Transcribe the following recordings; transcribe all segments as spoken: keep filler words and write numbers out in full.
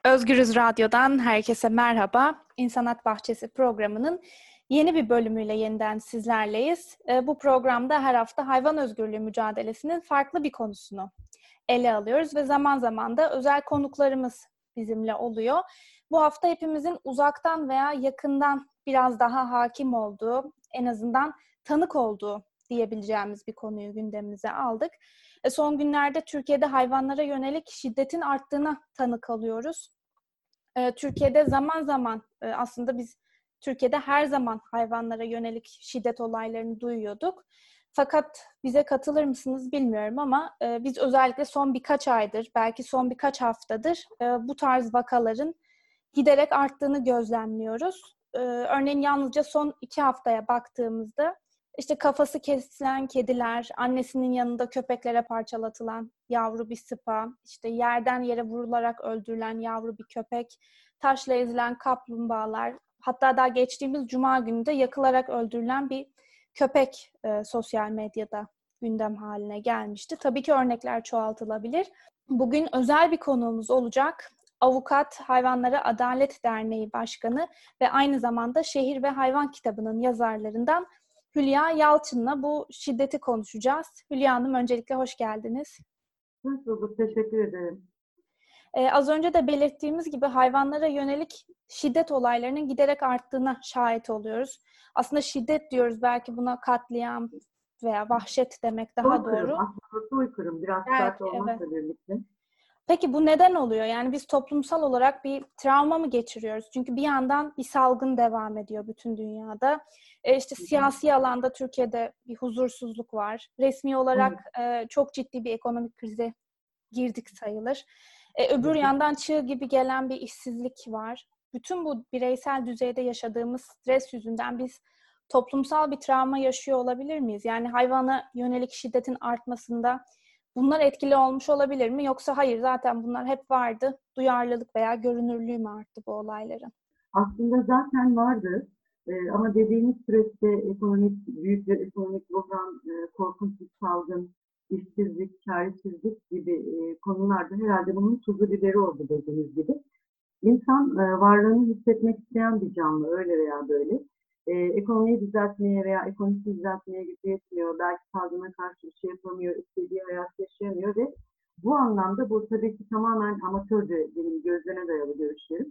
Özgürüz Radyo'dan herkese merhaba. İnsanat Bahçesi programının yeni bir bölümüyle yeniden sizlerleyiz. Bu programda her hafta hayvan özgürlüğü mücadelesinin farklı bir konusunu ele alıyoruz ve zaman zaman da özel konuklarımız bizimle oluyor. Bu hafta hepimizin uzaktan veya yakından biraz daha hakim olduğu, en azından tanık olduğu diyebileceğimiz bir konuyu gündemimize aldık. Son günlerde Türkiye'de hayvanlara yönelik şiddetin arttığına tanık alıyoruz. Türkiye'de zaman zaman aslında biz Türkiye'de her zaman hayvanlara yönelik şiddet olaylarını duyuyorduk. Fakat bize katılır mısınız bilmiyorum ama biz özellikle son birkaç aydır, belki son birkaç haftadır bu tarz vakaların giderek arttığını gözlemliyoruz. Örneğin yalnızca son iki haftaya baktığımızda işte kafası kesilen kediler, annesinin yanında köpeklere parçalatılan yavru bir sıpa, işte yerden yere vurularak öldürülen yavru bir köpek, taşla ezilen kaplumbağalar, hatta daha geçtiğimiz Cuma günü de yakılarak öldürülen bir köpek e, sosyal medyada gündem haline gelmişti. Tabii ki örnekler çoğaltılabilir. Bugün özel bir konuğumuz olacak. Avukat Hayvanlara Adalet Derneği Başkanı ve aynı zamanda Şehir ve Hayvan kitabının yazarlarından Hülya Yalçın'la bu şiddeti konuşacağız. Hülya Hanım, öncelikle hoş geldiniz. Hoş bulduk, teşekkür ederim. Ee, az önce de belirttiğimiz gibi hayvanlara yönelik şiddet olaylarının giderek arttığına şahit oluyoruz. Aslında şiddet diyoruz, belki buna katliam veya vahşet demek daha soykırım, doğru. aslında soykırım, biraz Belki, sert olmakla evet. birlikte. Peki bu neden oluyor? Yani biz toplumsal olarak bir travma mı geçiriyoruz? Çünkü bir yandan bir salgın devam ediyor bütün dünyada. E işte siyasi alanda Türkiye'de bir huzursuzluk var. Resmi olarak e, çok ciddi bir ekonomik krize girdik sayılır. E, öbür yandan çığ gibi gelen bir işsizlik var. Bütün bu bireysel düzeyde yaşadığımız stres yüzünden biz toplumsal bir travma yaşıyor olabilir miyiz? Yani hayvana yönelik şiddetin artmasında bunlar etkili olmuş olabilir mi? Yoksa hayır, zaten bunlar hep vardı, duyarlılık veya görünürlüğü mü arttı bu olayların? Aslında zaten vardı ee, ama dediğimiz süreçte ekonomik, büyük bir ekonomik buhran, e, korkunç bir salgın, işsizlik, çaresizlik gibi e, konularda herhalde bunun tuzu biberi oldu dediğimiz gibi. İnsan e, varlığını hissetmek isteyen bir canlı, öyle veya böyle. E, ekonomiyi düzeltmeye veya ekonomisi düzeltmeye gücü yetmiyor. Belki salgına karşı bir şey yapamıyor, istediği hayat yaşayamıyor ve bu anlamda bu tabii ki tamamen amatörce benim gözleme dayalı görüşlerim.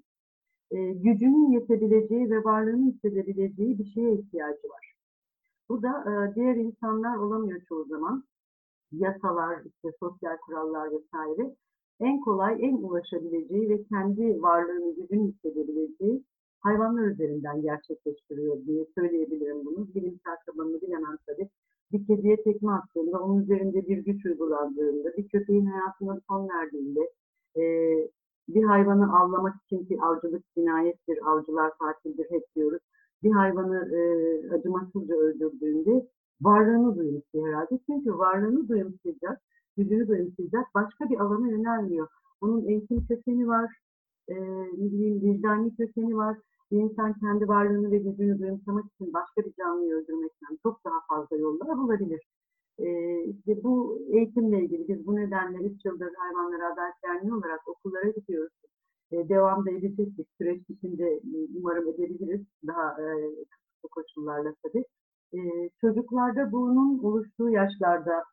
E, gücünün yetebileceği ve varlığını hissedebileceği bir şeye ihtiyacı var. Bu da e, diğer insanlar olamıyor çoğu zaman. Yasalar, işte sosyal kurallar vesaire en kolay, en ulaşabileceği ve kendi varlığını, gücünü hissedebileceği hayvanlar üzerinden gerçekleştiriyor diye söyleyebilirim bunu. Bilimsel tabanını bilemem tabii. Bir kediye tekme attığında, onun üzerinde bir güç uygulandığında, bir köpeğin hayatına son verdiğinde, e, bir hayvanı avlamak için, ki avcılık cinayettir, avcılar katildir hep diyoruz. Bir hayvanı e, acımasızca öldürdüğünde varlığını duyumsuyor herhalde. Çünkü varlığını duyumsayacak, gücünü duyumsayacak başka bir alana yönelmiyor. Onun eğitim kökeni var, e, vicdani kökeni var. Bir insan kendi varlığını ve gücünü duyumsamak için başka bir canlıyı öldürmekten çok daha fazla yollar bulabilir. E, işte bu eğitimle ilgili biz bu nedenle üç yıldır Hayvanlara Adalet Derneği olarak okullara gidiyoruz. E, devam da edecektik. Süreç bitince umarım edebiliriz. Daha e, kısıtlı koşullarla tabii. Ee, çocuklarda bunun oluştuğu yaşlarda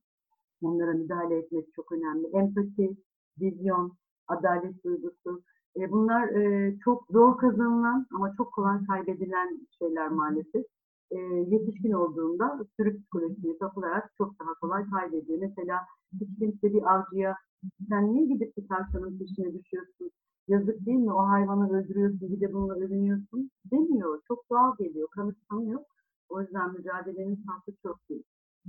onlara müdahale etmek çok önemli. Empati, vizyon, adalet duygusu. E, bunlar e, çok zor kazanılan ama çok kolay kaybedilen şeyler maalesef. E, yetişkin olduğunda sürü psikolojisine kapılarak çok daha kolay kaybediyor. Mesela hiç kimse bir avcıya sen niye gidip bir tavşanın peşine düşüyorsun? Yazık değil mi? O hayvanı öldürüyorsun, bir de bununla övünüyorsun demiyor. Çok doğal geliyor, kanıksanıyor. O yüzden mücadelenin sahnesi çok büyük.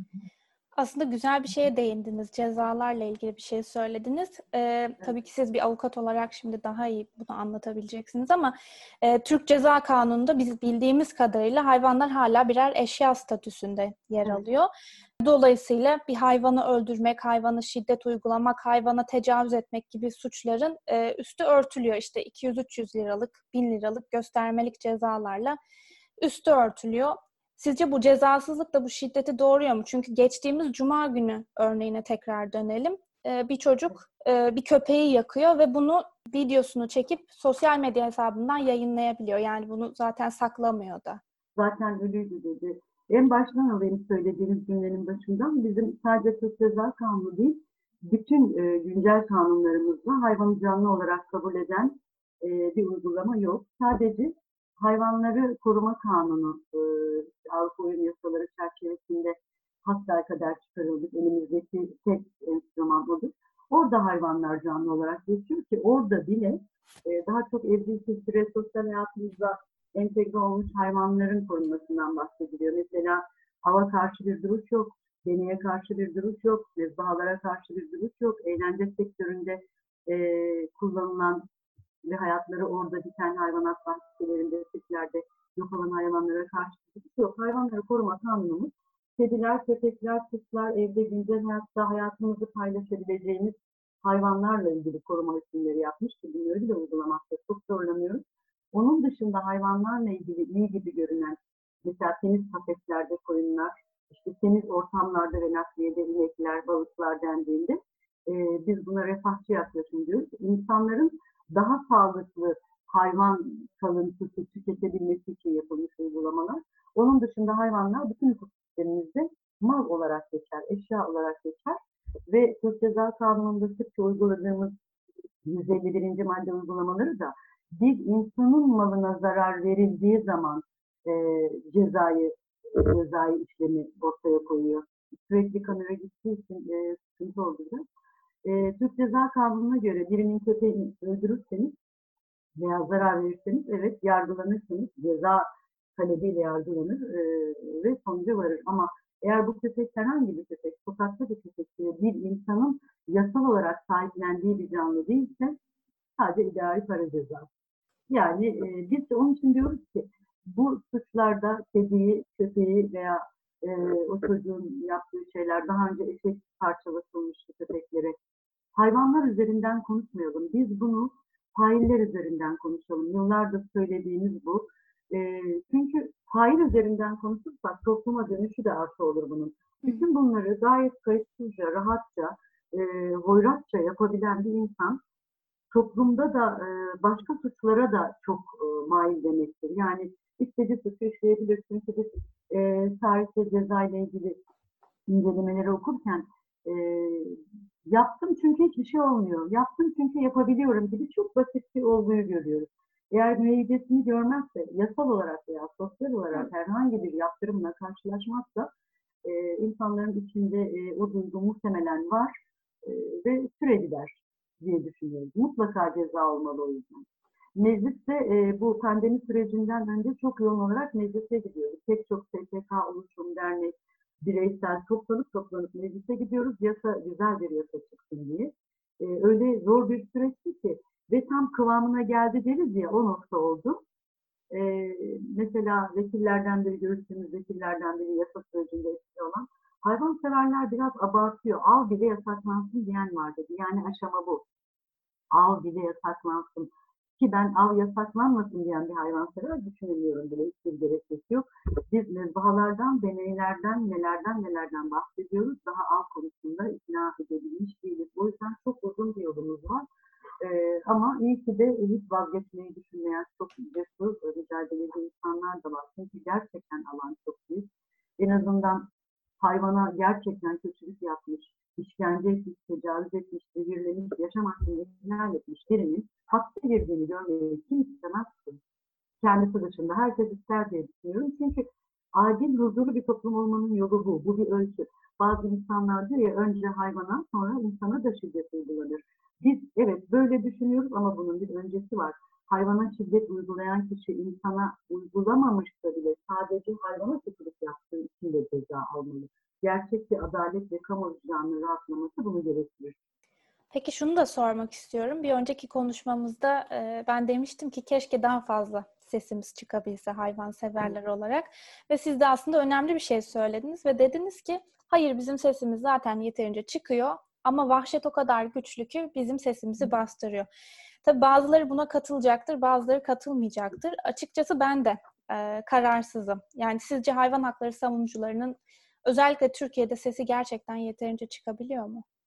Aslında güzel bir şeye değindiniz. Cezalarla ilgili bir şey söylediniz. Ee, evet. Tabii ki siz bir avukat olarak şimdi daha iyi bunu anlatabileceksiniz ama e, Türk Ceza Kanunu'nda biz bildiğimiz kadarıyla hayvanlar hala birer eşya statüsünde yer evet. alıyor. Dolayısıyla bir hayvanı öldürmek, hayvana şiddet uygulamak, hayvana tecavüz etmek gibi suçların e, üstü örtülüyor. İşte iki yüz üç yüz liralık, bin liralık göstermelik cezalarla üstü örtülüyor. Sizce bu cezasızlık da bu şiddeti doğuruyor mu? Çünkü geçtiğimiz Cuma günü örneğine tekrar dönelim. e, bir çocuk e, bir köpeği yakıyor ve bunu videosunu çekip sosyal medya hesabından yayınlayabiliyor. Yani bunu zaten saklamıyor da. Zaten ölüydü dedi. En baştan alayım söylediğiniz cümlenin başından. Bizim sadece Türk Ceza Kanunu değil, bütün e, güncel kanunlarımızda hayvanı canlı olarak kabul eden e, bir uygulama yok. Sadece Hayvanları Koruma Kanunu e, Avrupa Uyum Yasaları çerçevesinde hasbelkader çıkarıldık. Elimizdeki tek enstrüman odur. Orada hayvanlar canlı olarak geçiyor ki orada bile e, daha çok evcil kültüre, sosyal hayatımızda entegre olmuş hayvanların korunmasından bahsediliyor. Mesela hava karşı bir duruş yok, deneye karşı bir duruş yok, mezbahalara karşı bir duruş yok, eğlence sektöründe e, kullanılan ve hayatları orada biten hayvanat bahçelerinde, sirklerde yok olan hayvanlara karşı bir duruş yok. Hayvanları koruma kanunumuz, kediler, köpekler, kuşlar, evde güncel hayatta hayatımızı paylaşabileceğimiz hayvanlarla ilgili koruma hükümleri yapmış ki bunları bile uygulamakta çok zorlanıyoruz. Onun dışında hayvanlarla ilgili iyi gibi görünen, mesela temiz kafeslerde koyunlar, işte temiz ortamlarda ve nakliyede inekler, balıklar dendiğinde e, biz buna refahçı yaklaşım diyoruz. İnsanların daha sağlıklı hayvan kalıntısı tüketebilmesi için yapılmış uygulamalar. Onun dışında hayvanlar bütün hukuk sistemimizde mal olarak geçer, eşya olarak geçer ve Türk Ceza Kanunu'nda sıkça uyguladığımız yüz elli birinci madde uygulamaları da bir insanın malına zarar verildiği zaman e, cezayı cezai işlemi ortaya koyuyor. Sürekli kamera gittiği için e, sıkıntı oldu. E, Türk Ceza Kanunu'na göre birinin köpeğini öldürürseniz veya zarar verirseniz evet yargılanırsınız. Ceza talebiyle yargılanır e, ve sonuca varır. Ama eğer bu köpek herhangi bir köpek, sokakta bir köpek, bir insanın yasal olarak sahiplendiği bir canlı değilse sadece idari para cezası. Yani e, biz de onun için diyoruz ki bu suçlarda kediyi, köpeği veya e, o çocuğun yaptığı şeyler daha önce eşek parçalatılmıştı köpeklere. Hayvanlar üzerinden konuşmayalım. Biz bunu failler üzerinden konuşalım. Yıllardır söylediğimiz bu. E, çünkü fail üzerinden konuşursak topluma dönüşü de artı olur bunun. Bütün bunları gayet kayıtsızca, rahatça, e, hoyratça yapabilen bir insan toplumda da e, başka suçlara da çok e, mail demektir. Yani istediği suçu işleyebilirsin. Çünkü e, tarihte ceza ile ilgili incelemeleri okurken e, yaptım çünkü hiçbir şey olmuyor. Yaptım çünkü yapabiliyorum gibi çok basit bir olguyu görüyoruz. Eğer müeyyidesini görmezse, yasal olarak veya sosyal olarak herhangi bir yaptırımla karşılaşmazsa e, insanların içinde e, o duygu muhtemelen var e, ve süreliler diye düşünüyoruz. Mutlaka ceza olmalı o yüzden. Mecliste e, bu pandemi sürecinden önce çok yoğun olarak meclise gidiyoruz. Pek çok S T K, oluşum, dernek, bireysel toplanıp toplanıp meclise gidiyoruz. Yasa, güzel bir yasa çıksın diye. E, öyle zor bir süreçti ki ve tam kıvamına geldi deriz ya, o nokta oldu. E, mesela vekillerden biri, görüştüğümüz vekillerden biri yasa sürecinde etkili olan hayvanseverler biraz abartıyor. Av bile yasaklansın diyen var dedi. Yani aşama bu. Av bile yasaklansın. Ki ben av yasaklanmasın diyen bir hayvansever düşünemiyorum bile. Hiçbir gerekçesi yok. Biz mezbahalardan, deneylerden, nelerden nelerden bahsediyoruz. Daha av konusunda ikna edebilmiş değiliz. O yüzden çok uzun bir yolumuz var. Ee, ama iyi ki de hiç vazgeçmeyi düşünmeyen çok cesur, mücadeleci insanlar da var. Çünkü gerçekten alan çok büyük. En azından hayvana gerçekten kötülük yapmış, işkence etmiş, tecavüz etmiş, zehirlemiş, yaşam hakkını ihlal etmiş birinin hapse girdiğini görmeyi kim istemez ki? Kendisi dışında herkes ister diye düşünüyorum. Çünkü adil, huzurlu bir toplum olmanın yolu bu. Bu bir ölçü. Bazı insanlar diyor ya, önce hayvana sonra insana da şiddet uygulanır. Biz evet böyle düşünüyoruz ama bunun bir öncesi var. Hayvana şiddet uygulayan kişi insana uygulamamışsa bile sadece hayvana kötülük yaptığı için de ceza almalı. Gerçek bir adalet ve kamu vicdanının rahatlaması bunu gerektirir. Peki şunu da sormak istiyorum. Bir önceki konuşmamızda e, ben demiştim ki keşke daha fazla sesimiz çıkabilse hayvanseverler olarak. Ve siz de aslında önemli bir şey söylediniz ve dediniz ki hayır, bizim sesimiz zaten yeterince çıkıyor ama vahşet o kadar güçlü ki bizim sesimizi bastırıyor. Tabii bazıları buna katılacaktır, bazıları katılmayacaktır. Açıkçası ben de e, kararsızım. Yani sizce hayvan hakları savunucularının özellikle Türkiye'de sesi gerçekten yeterince çıkabiliyor mu?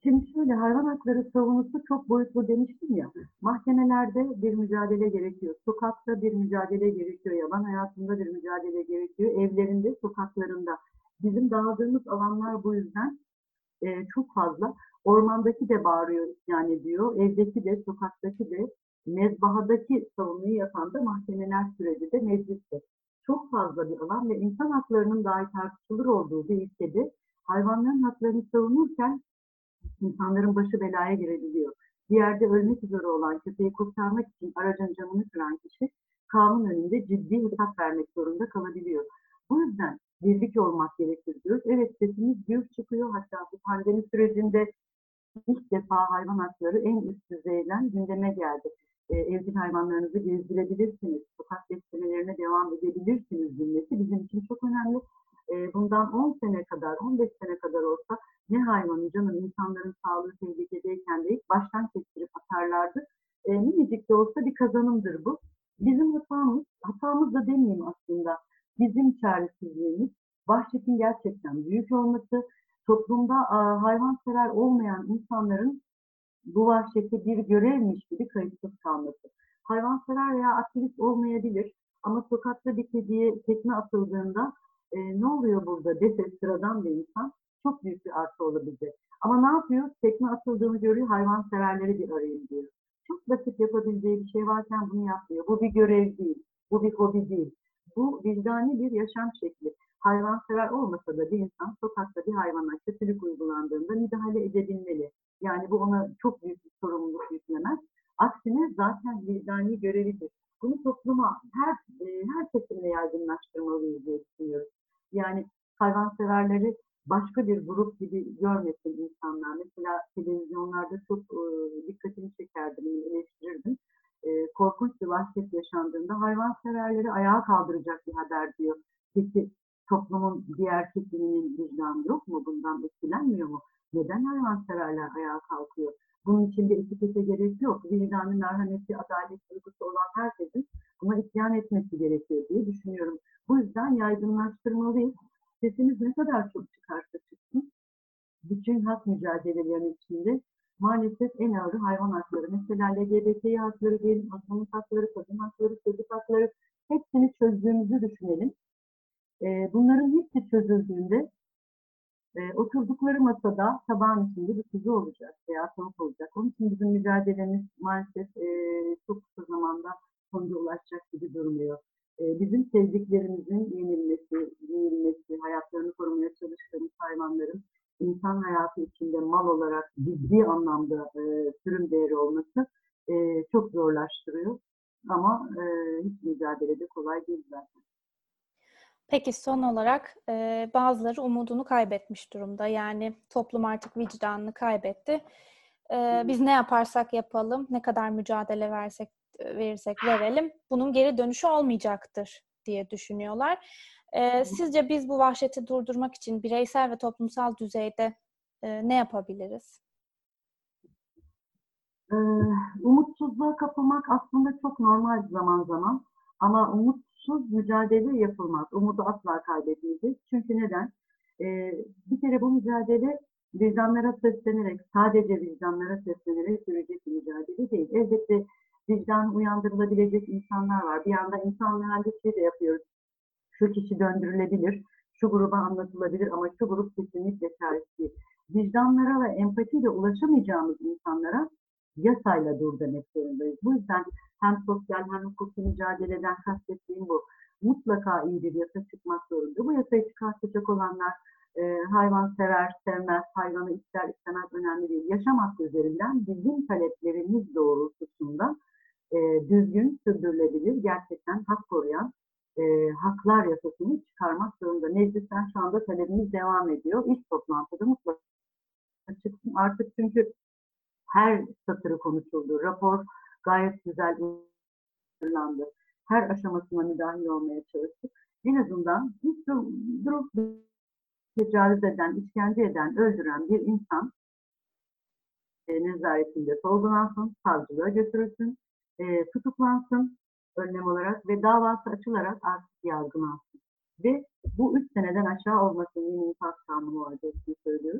Şimdi şöyle, hayvan hakları savunusu çok boyutlu demiştim ya. Mahkemelerde bir mücadele gerekiyor. Sokakta bir mücadele gerekiyor. Yaban hayatında bir mücadele gerekiyor. Evlerinde, sokaklarında. Bizim dağıldığımız alanlar bu yüzden e, çok fazla. Ormandaki de bağırıyor, isyan ediyor. Evdeki de, sokaktaki de, mezbahadaki savunuyu yapan da mahkemeler süreci de, mecliste. Çok fazla bir alan ve insan haklarının dahi tartışılır olduğu bir ülkede hayvanların haklarını savunurken insanların başı belaya girebiliyor. Bir yerde ölmek üzere olan köpeği kurtarmak için aracın camını kıran kişi kanun önünde ciddi hesap vermek zorunda kalabiliyor. Bu yüzden birlik olmak gerekir diyoruz. Evet, sesimiz gür çıkıyor. Hatta bu pandemi sürecinde ilk defa hayvan hakları en üst düzeyden gündeme geldi. E, evcil hayvanlarınızı gezdirebilirsiniz, sokak beslemelerine devam edebilirsiniz cümlesi bizim için çok önemli. E, bundan on sene kadar, on beş sene kadar olsa ne hayvanı canım, insanların sağlığı tehlikedeyken de ilk baştan kestirip atarlardı. E, minicik de olsa bir kazanımdır bu. Bizim hatamız, hatamız da demeyeyim aslında, bizim çaresizliğimiz, vahşetin gerçekten büyük olması, toplumda a, hayvansever olmayan insanların bu vahşeti bir görevmiş gibi kayıtsız kalması. Hayvansever veya aktivist olmayabilir ama sokakta bir kediye tekme atıldığında e, ne oluyor burada dese sıradan bir insan çok büyük bir artı olabilir. Ama ne yapıyor? Tekme atıldığını görüyor, hayvanseverleri bir arayın diyor. Çok basit yapabileceği bir şey varken bunu yapmıyor. Bu bir görev değil, bu bir hobi değil. Bu vicdani bir yaşam şekli. Hayvansever olmasa da bir insan sokakta bir hayvana kötülük uygulandığında müdahale edebilmeli. Yani bu ona çok büyük bir sorumluluk yüklemez. Aksine zaten vicdani görevidir. Bunu topluma her e, her kesimle yaygınlaştırmalıyız diye düşünüyoruz. Yani hayvanseverleri başka bir grup gibi görmesin insanlar. Mesela televizyonlarda çok e, dikkatimi çekerdim, eleştirirdim. E, korkunç bir vahşet yaşandığında hayvanseverleri ayağa kaldıracak bir haber diyor. Peki toplumun diğer kesiminin vicdanı yok mu? Bundan etkilenmiyor mu? Neden hayvanseverler ayağa kalkıyor? Bunun içinde etikete gerek yok. Vicdanı, merhameti, adalet duygusu olan herkesin buna isyan etmesi gerekiyor diye düşünüyorum. Bu yüzden yaygınlaştırmalıyız. Sesimiz ne kadar çok çıkarsa çıksın, bütün hak mücadelelerinin içinde maalesef en ağırı hayvan hakları. Mesela L G B T hakları diyelim, azınlık hakları, kadın hakları, çocuk hakları, hepsini çözdüğümüzü düşünelim. Bunların hepsi çözüldüğünde E, oturdukları masada tabağın içinde bir kuzu olacak veya tavuk olacak. Onun için bizim mücadelemiz maalesef e, çok kısa zamanda sonuca ulaşacak gibi durmuyor. E, bizim sevdiklerimizin yenilmesi, yenilmesi, hayatlarını korumaya çalıştığımız hayvanların insan hayatı içinde mal olarak ciddi anlamda e, sürüm değeri olması e, çok zorlaştırıyor. Ama e, hiç mücadelede kolay değil zaten. Peki son olarak e, bazıları umudunu kaybetmiş durumda. Yani toplum artık vicdanını kaybetti. E, biz ne yaparsak yapalım, ne kadar mücadele versek verirsek verelim, bunun geri dönüşü olmayacaktır diye düşünüyorlar. E, sizce biz bu vahşeti durdurmak için bireysel ve toplumsal düzeyde e, ne yapabiliriz? Ee, umutsuzluğa kapılmak aslında çok normal zaman zaman. Ama umutsuz mücadele yapılmaz. Umudu asla kaybetmeyeceğiz. Çünkü neden? Ee, bir kere bu mücadele vicdanlara seslenerek, sadece vicdanlara seslenerek sürecek bir mücadele değil. Elbette vicdan uyandırılabilecek insanlar var. Bir yanda insan mühendisliği de yapıyoruz. Şu kişi döndürülebilir, şu gruba anlatılabilir ama şu grup kesinlikle çaresiz değil. Vicdanlara ve empatiyle ulaşamayacağımız insanlara yasayla dur demek zorundayız. Bu yüzden hem sosyal hem hukuki mücadeleden kastettiğim bu. Mutlaka iyi bir yasa çıkmak zorunda. Bu yasayı çıkartacak olanlar e, hayvan sever, sevmez, hayvanı ister istemez önemli değil. Yaşam hakkı üzerinden bizim taleplerimiz doğrultusunda e, düzgün, sürdürülebilir, gerçekten hak koruyan e, haklar yasasını çıkarmak zorunda. Meclisten şu anda talebimiz devam ediyor. İlk toplantıda mutlaka çıksın. Artık çünkü her satırı konuşuldu. Rapor gayet güzel hazırlandı. Her aşamasına müdahil olmaya çalıştık. En azından hiç durup tecavüz eden, işkence eden, öldüren bir insan e, nezaretinde sorgulansın, savcılığa götürülsün, e, tutuklansın önlem olarak ve davası açılarak artık yargılansın. Ve bu üç seneden aşağı olmasın, yeni infaz kanunu var diye söylüyoruz.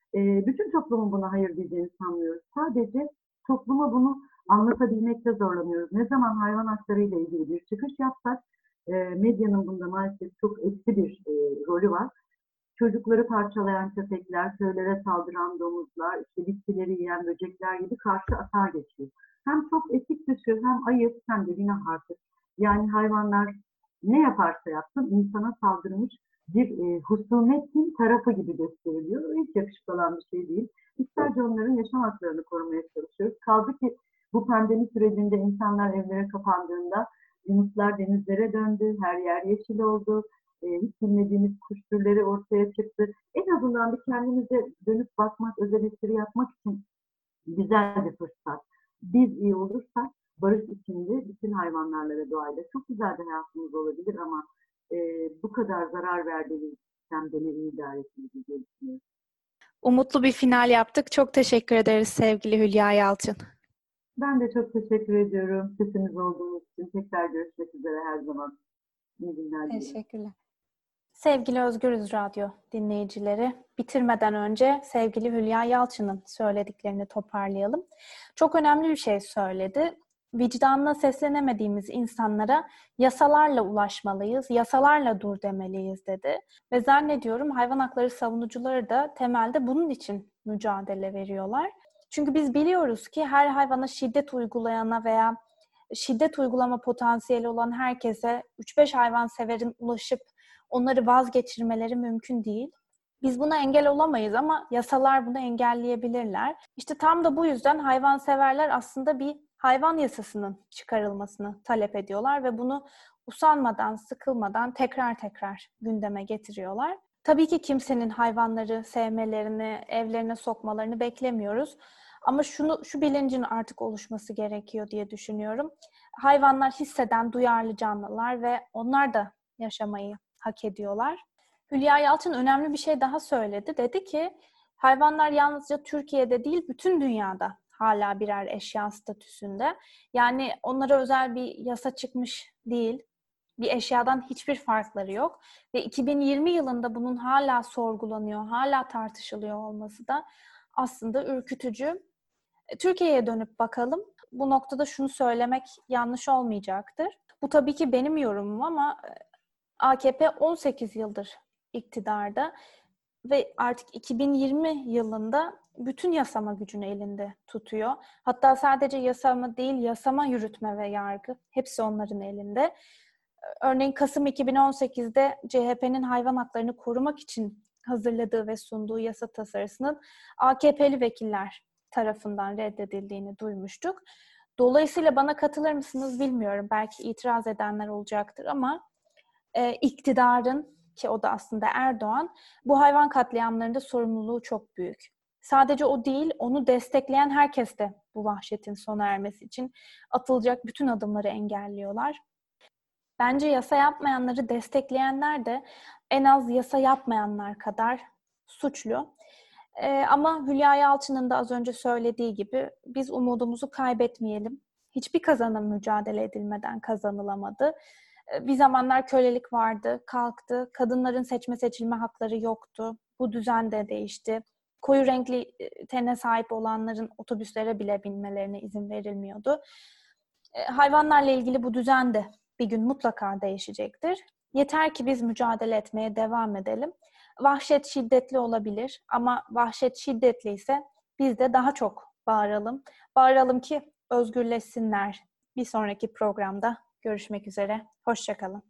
E, bütün toplumun buna hayır diyeceğini sanmıyoruz. Sadece topluma bunu anlatabilmekte zorlanıyoruz. Ne zaman hayvan hakları ile ilgili bir çıkış yapsak, e, medyanın bunda maalesef çok eksi bir e, rolü var. Çocukları parçalayan köpekler, köylere saldıran domuzlar, işte bitkileri yiyen böcekler gibi karşı atağa geçiyor. Hem çok etik dışı, hem ayıp, hem de günah artık. Yani hayvanlar ne yaparsa yapsın insana saldırmış bir e, husumetin tarafı gibi gösteriliyor. Hiç yakışıklı olan bir şey değil. Biz sadece onların yaşam haklarını korumaya çalışıyoruz. Kaldı ki bu pandemi sürecinde insanlar evlere kapandığında yunuslar denizlere döndü, her yer yeşil oldu. E, hiç bilmediğimiz kuş türleri ortaya çıktı. En azından bir kendimize dönüp bakmak, özel eleştiri yapmak için güzel bir fırsat. Biz iyi olursak barış içinde bütün hayvanlarla ve doğayla çok güzel bir hayatımız olabilir ama e, bu kadar zarar verdiğimiz sistemde ne iyi idare ettiğimizi diye düşünüyorum. Umutlu bir final yaptık. Çok teşekkür ederiz sevgili Hülya Yalçın. Ben de çok teşekkür ediyorum. Sesiniz olduğunuz için. Tekrar görüşmek üzere her zaman. İyi günler dilerim. Teşekkürler. Sevgili Özgürüz Radyo dinleyicileri, bitirmeden önce sevgili Hülya Yalçın'ın söylediklerini toparlayalım. Çok önemli bir şey söyledi. Vicdanına seslenemediğimiz insanlara yasalarla ulaşmalıyız, yasalarla dur demeliyiz dedi. Ve zannediyorum hayvan hakları savunucuları da temelde bunun için mücadele veriyorlar. Çünkü biz biliyoruz ki her hayvana şiddet uygulayana veya şiddet uygulama potansiyeli olan herkese üç beş hayvanseverin ulaşıp onları vazgeçirmeleri mümkün değil. Biz buna engel olamayız ama yasalar bunu engelleyebilirler. İşte tam da bu yüzden hayvanseverler aslında bir hayvan yasasının çıkarılmasını talep ediyorlar ve bunu usanmadan, sıkılmadan tekrar tekrar gündeme getiriyorlar. Tabii ki kimsenin hayvanları sevmelerini, evlerine sokmalarını beklemiyoruz. Ama şunu, şu bilincin artık oluşması gerekiyor diye düşünüyorum. Hayvanlar hisseden, duyarlı canlılar ve onlar da yaşamayı hak ediyorlar. Hülya Yalçın önemli bir şey daha söyledi. Dedi ki hayvanlar yalnızca Türkiye'de değil bütün dünyada hala birer eşya statüsünde. Yani onlara özel bir yasa çıkmış değil. Bir eşyadan hiçbir farkları yok. Ve iki bin yirmi yılında bunun hala sorgulanıyor, hala tartışılıyor olması da aslında ürkütücü. Türkiye'ye dönüp bakalım. Bu noktada şunu söylemek yanlış olmayacaktır. Bu tabii ki benim yorumum ama A K P on sekiz yıldır iktidarda ve artık iki bin yirmi yılında bütün yasama gücünü elinde tutuyor. Hatta sadece yasama değil, yasama, yürütme ve yargı hepsi onların elinde. Örneğin Kasım iki bin on sekizde C H P'nin hayvan haklarını korumak için hazırladığı ve sunduğu yasa tasarısının A K P'li vekiller tarafından reddedildiğini duymuştuk. Dolayısıyla bana katılır mısınız bilmiyorum. Belki itiraz edenler olacaktır ama e, iktidarın, ki o da aslında Erdoğan, bu hayvan katliamlarında sorumluluğu çok büyük. Sadece o değil, onu destekleyen herkes de bu vahşetin sona ermesi için atılacak bütün adımları engelliyorlar. Bence yasa yapmayanları destekleyenler de en az yasa yapmayanlar kadar suçlu. Ee, ama Hülya Yalçın'ın da az önce söylediği gibi biz umudumuzu kaybetmeyelim. Hiçbir kazanım mücadele edilmeden kazanılamadı. Ee, bir zamanlar kölelik vardı, kalktı. Kadınların seçme seçilme hakları yoktu. Bu düzen de değişti. Koyu renkli tene sahip olanların otobüslere bile binmelerine izin verilmiyordu. Ee, hayvanlarla ilgili bu düzen de bir gün mutlaka değişecektir. Yeter ki biz mücadele etmeye devam edelim. Vahşet şiddetli olabilir ama vahşet şiddetli ise biz de daha çok bağıralım. Bağıralım ki özgürleşsinler. Bir sonraki programda görüşmek üzere. Hoşça kalın.